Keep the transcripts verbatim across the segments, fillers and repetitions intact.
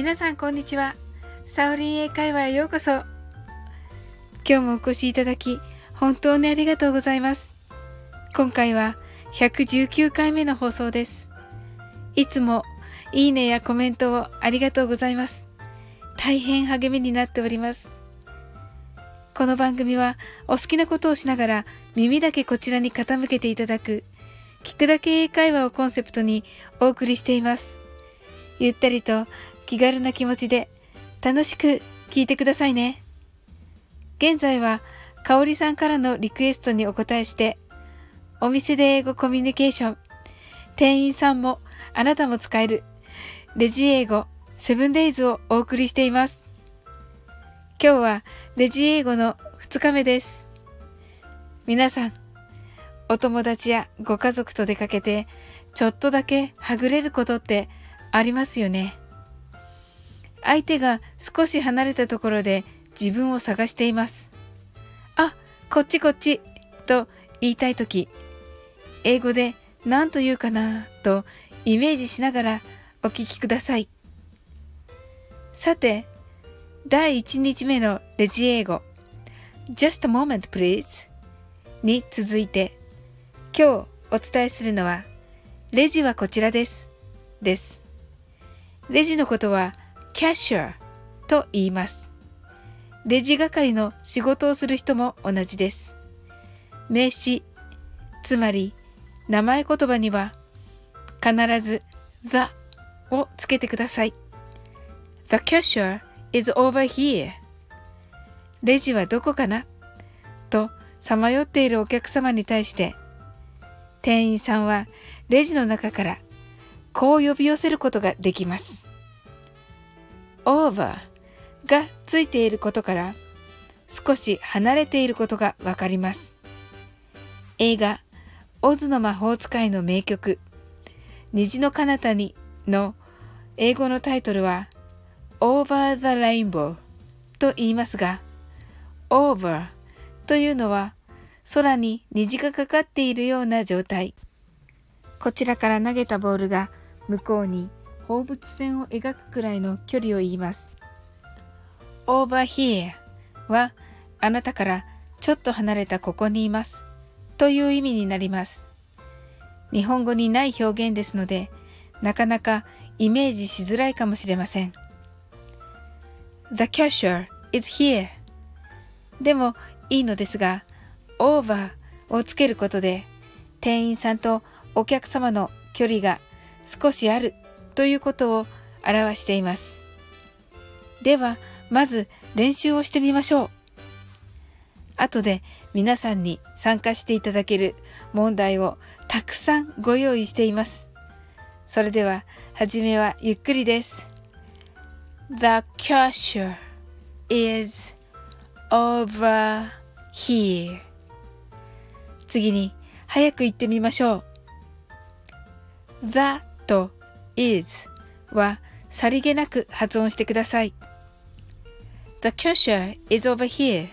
皆さんこんにちは。サオリン英会話へようこそ。今日もお越しいただき本当にありがとうございます。今回はひゃくじゅうきゅうかいめの放送です。いつもいいねやコメントをありがとうございます。大変励みになっております。この番組はお好きなことをしながら耳だけこちらに傾けていただく聞くだけ英会話をコンセプトにお送りしています。ゆったりと気軽な気持ちで楽しく聞いてくださいね。現在はかおりさんからのリクエストにお答えしてお店で英語コミュニケーション、店員さんもあなたも使えるレジ英語セブンデイズをお送りしています。今日はレジ英語のふつかめです。皆さん、お友達やご家族と出かけてちょっとだけはぐれることってありますよね。相手が少し離れたところで自分を探しています。あ、こっちこっちと言いたいとき、英語で何と言うかなとイメージしながらお聞きください。さて、だいいちにちめのレジ英語 Just a moment please に続いて、今日お伝えするのはレジはこちらですです。レジのことはキャッシャーと言います。レジ係の仕事をする人も同じです。名詞、つまり名前言葉には必ず the をつけてください。The cashier is over here. レジはどこかなとさまよっているお客様に対して、店員さんはレジの中からこう呼び寄せることができます。over がついていることから少し離れていることがわかります。映画オズの魔法使いの名曲虹の彼方にの英語のタイトルは Over the Rainbow と言いますが、 Over というのは空に虹がかかっているような状態。こちらから投げたボールが向こうに放物線を描くくらいの距離を言います。Over here はあなたからちょっと離れたここにいますという意味になります。日本語にない表現ですので、なかなかイメージしづらいかもしれません。The cashier is here でもいいのですが、over をつけることで店員さんとお客様の距離が少しあるということを表しています。ではまず練習をしてみましょう。後で皆さんに参加していただける問題をたくさんご用意しています。それでは初めはゆっくりです。 The cashier is over here。 次に早く言ってみましょう。 The と is はさりげなく発音してください。 The cashier is over here。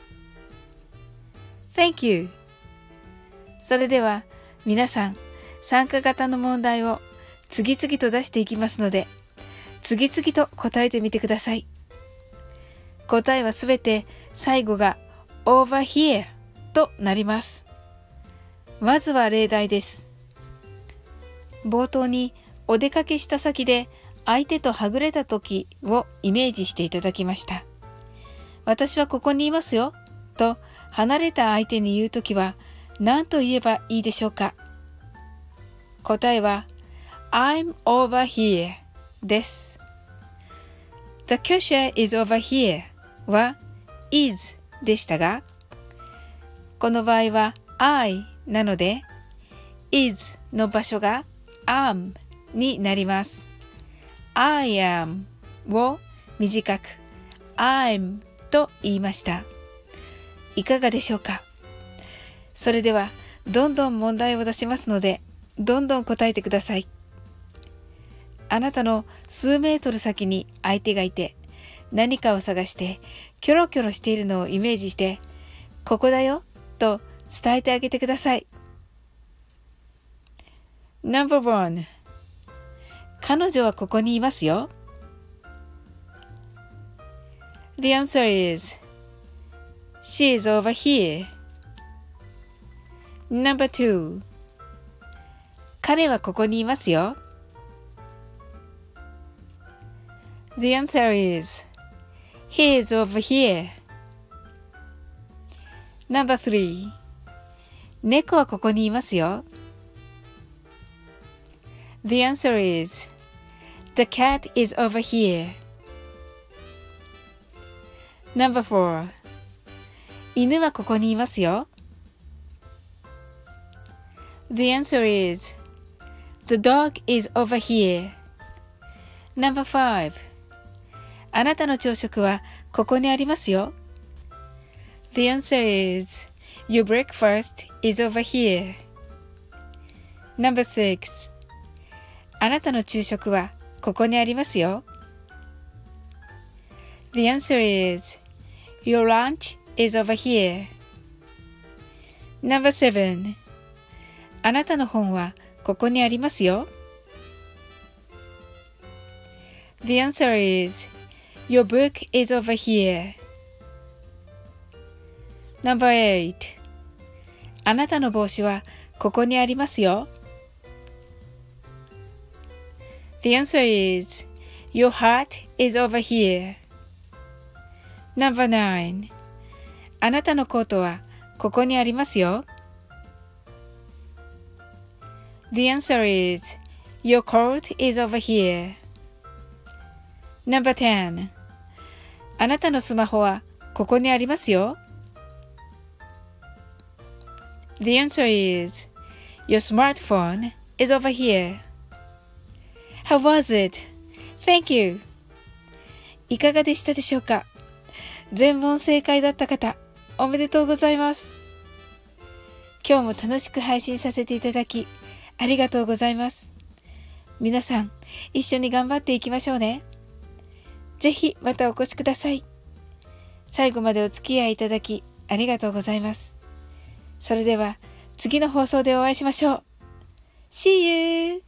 Thank you。 それでは皆さん、参加型の問題を次々と出していきますので、次々と答えてみてください。答えはすべて最後が over here となります。まずは例題です。冒頭にお出かけした先で相手とはぐれた時をイメージしていただきました。私はここにいますよと離れた相手に言うときは何と言えばいいでしょうか。答えは I'm over here です。 The cashier is over here は is でしたが、この場合は I なので is の場所が am になります。 I am を短く I'm と言いました。いかがでしょうか。それではどんどん問題を出しますので、どんどん答えてください。あなたの数メートル先に相手がいて、何かを探してキョロキョロしているのをイメージして、ここだよと伝えてあげてください。 ナンバーワン、 彼女はここにいますよ。 The answer is She is over here. Number two. 彼はここにいますよ。The answer is He is over here. Number three. 猫はここにいますよ。The answer is The cat is over here. Number four. 犬はここにいますよ。The answer is The dog is over here. Number five. あなたの朝食はここにありますよ。The answer is Your breakfast is over here. Number six. あなたの昼食はここにありますよ。The answer is Your lunch is over here. Number seven. あなたの本はここにありますよ。The answer is Your book is over here. Number eight. あなたの帽子はここにありますよ。The answer is Your hat is over here. Number nine. あなたのコートはここにありますよ。The answer is Your coat is over here. Number ten. あなたのスマホはここにありますよ。The answer is Your smartphone is over here. How was it? Thank you. いかがでしたでしょうか？全問正解だった方、おめでとうございます。今日も楽しく配信させていただき、ありがとうございます。皆さん、一緒に頑張っていきましょうね。ぜひまたお越しください。最後までお付き合いいただき、ありがとうございます。それでは、次の放送でお会いしましょう。See you!